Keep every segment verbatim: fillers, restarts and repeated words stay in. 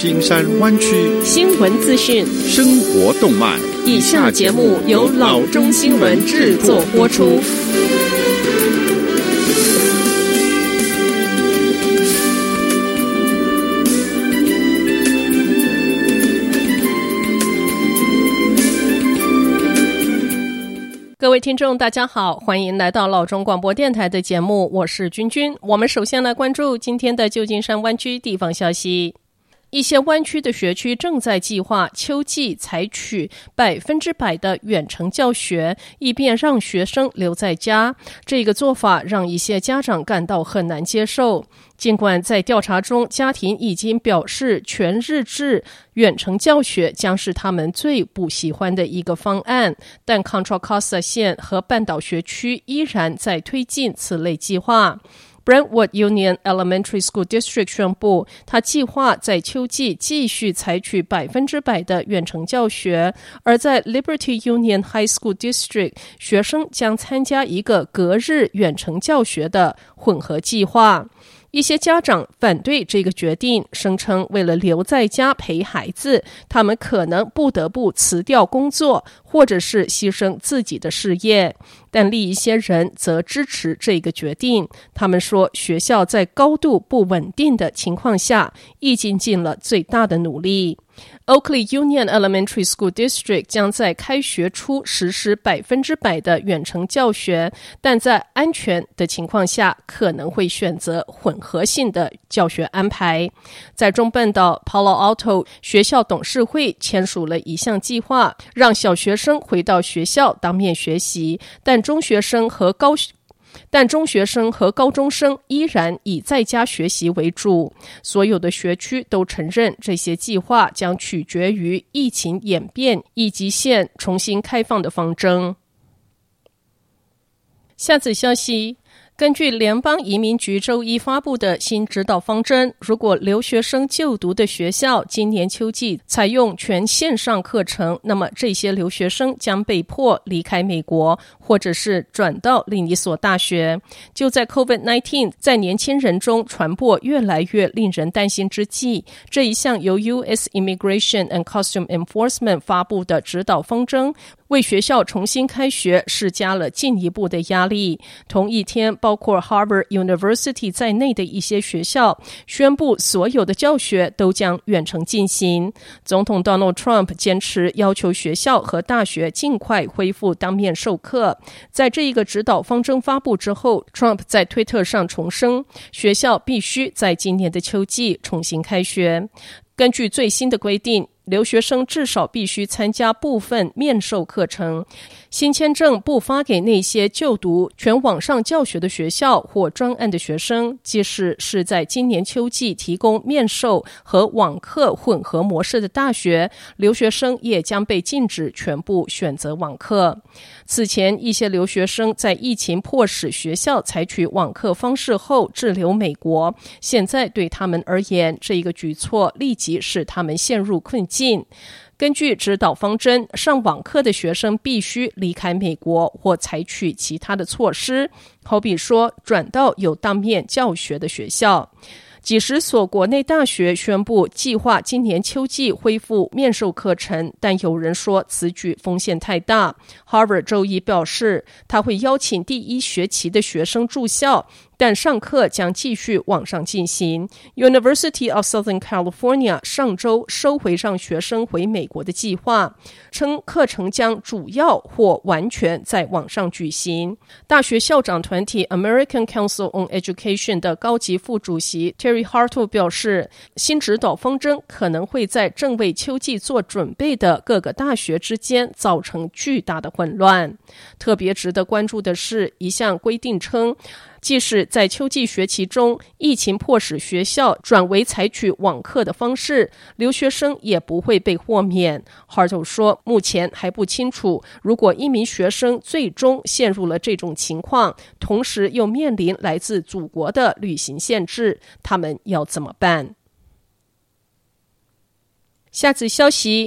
金山灣區新聞資訊、 生活動脈。 以下節目由老中新聞製作播出。各位聽眾大家好，歡迎來到老中廣播電臺的節目，我是君君。我們首先來關注今天的舊金山灣區地方消息。一些灣區的學區正在計劃秋季採取百分之百的遠程教學，以便讓學生留在家。這個做法讓一些家長感到很難接受。儘管在調查中，家庭已經表示全日制遠程教學將是他們最不喜歡的一個方案，但 Contra Costa 縣和半島學區依然在推進此類計劃。Brentwood Union Elementary School District 宣布，他計劃在秋季繼續採取百分之百的遠程教學，而在 Liberty Union High School District， 學生將參加一個隔日遠程教學的混合計劃。一些家長反對這個決定，聲稱為了留在家陪孩子，他們可能不得不辭掉工作，或者是犧牲自己的事業。但另一些人則支持這個決定，他們說學校在高度不穩定的情況下，已經盡了最大的努力。Oakley Union Elementary School District 將在開學初實施百分之百的遠程教學，但在安全的情況下，可能會選擇混合性的教學安排。在中半島 Palo Alto 學校董事會簽署了一項計劃，讓小學生回到學校當面學習，但中學生和高但中學生和高中生依然以在家學習為主。所有的學區都承認這些計劃將取決於疫情演變以及縣重新開放的方針。下則消息，根據聯邦移民局周一發布的新指導方針，如果留學生就讀的學校今年秋季採用全線上課程，那麼這些留學生將被迫離開美國，或者是轉到另一所大學。就在 COVID 十九 在年輕人中傳播越來越令人擔心之際，這一項由 U S Immigration and Customs Enforcement 發布的指導方針，為學校重新開學施加了進一步的壓力。同一天，包括 Harvard University 在內的一些學校宣布，所有的教學都將遠程進行。總統 Donald Trump 堅持要求學校和大學盡快恢復當面授課。在這一個指導方針發布之後， Trump 在推特上重申，學校必須在今年的秋季重新開學。根據最新的規定，留學生至少必須參加部分面授課程。新簽證不發給那些就讀全網上教學的學校或專案的學生，即使是在今年秋季提供面授和網課混合模式的大學，留學生也將被禁止全部選擇網課。此前，一些留學生在疫情迫使學校採取網課方式後滯留美國，現在對他們而言，這一個舉措立即使他們陷入困境。根據指導方針，上網課的學生必須離開美國或採取其他的措施，好比說轉到有當面教學的學校。幾十所國內大學宣布計劃今年秋季恢復面授課程，但有人說此舉風險太大。Harvard 周一表示，他會邀請第一學期的學生住校，但上課將繼續網上進行。University of Southern California 上周收回讓學生回美國的計劃，稱課程將主要或完全在網上舉行。大學校長團體 American Council on Education 的高級副主席 Terry Hartle 表示，新指導方針可能會在正為秋季做準備的各個大學之間造成巨大的混亂。特別值得關注的是，一項規定稱，即使在秋季學期中，疫情迫使學校轉為採取網課的方式，留學生也不會被豁免。Hartle 說，目前還不清楚，如果一名學生最終陷入了這種情況，同時又面臨來自祖國的旅行限制，他們要怎麼辦？下次消息，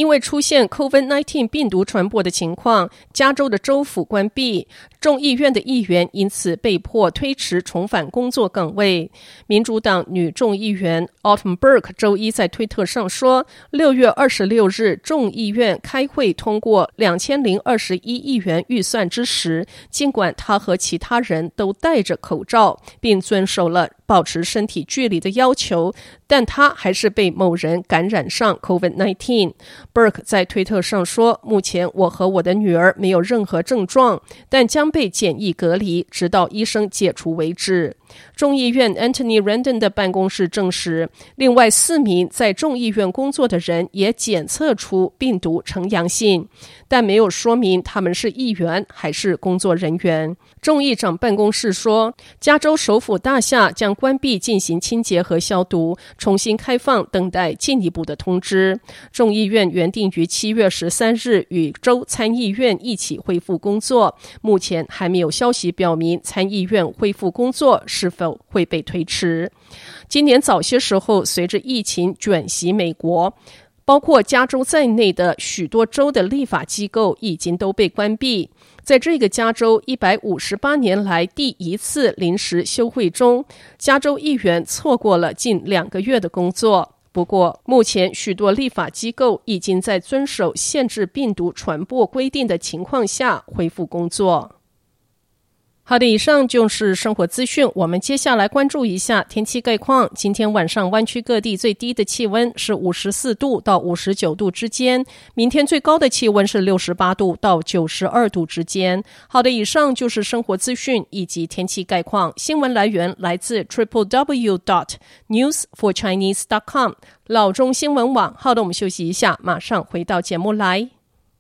因為出現 COVID 十九 病毒傳播的情況，加州的州府關閉，眾議院的議員因此被迫推遲重返工作崗位。民主黨女眾議員 Autumn Burke 周一在推特上說，六月二十六日眾議院開會通過兩千零二十一億元預算之時，儘管她和其他人都戴着口罩，並遵守了保持身體距離的要求，但她還是被某人感染上 COVID 十九。Burke 在推特上說，目前我和我的女兒沒有任何症狀，但將被檢疫隔離，直到醫生解除為止。眾議院 Anthony Randon 的辦公室證實，另外四名在眾議院工作的人也檢測出病毒呈陽性，但沒有說明他們是議員還是工作人員。眾議長辦公室說，加州首府大廈將關閉進行清潔和消毒，重新開放等待進一步的通知。眾議院原定於七月十三日與州參議院一起恢復工作，目前還沒有消息表明參議院恢復工作是否會被推遲。今年早些時候，隨着疫情捲襲美國，包括加州在內的許多州的立法機構已經都被關閉。在這個加州一百五十八年來第一次臨時休會中，加州議員錯過了近兩個月的工作。不過，目前許多立法機構已經在遵守限制病毒傳播規定的情況下恢復工作。好的，以上就是生活資訊。我們接下來關注一下天氣概況。今天晚上灣區各地最低的氣溫是五十四度到五十九度之間，明天最高的氣溫是六十八度到九十二度之間。好的，以上就是生活資訊以及天氣概況。新聞來源來自 triple w dot news for chinese dot com 老中新聞網。好的，我們休息一下，馬上回到節目來。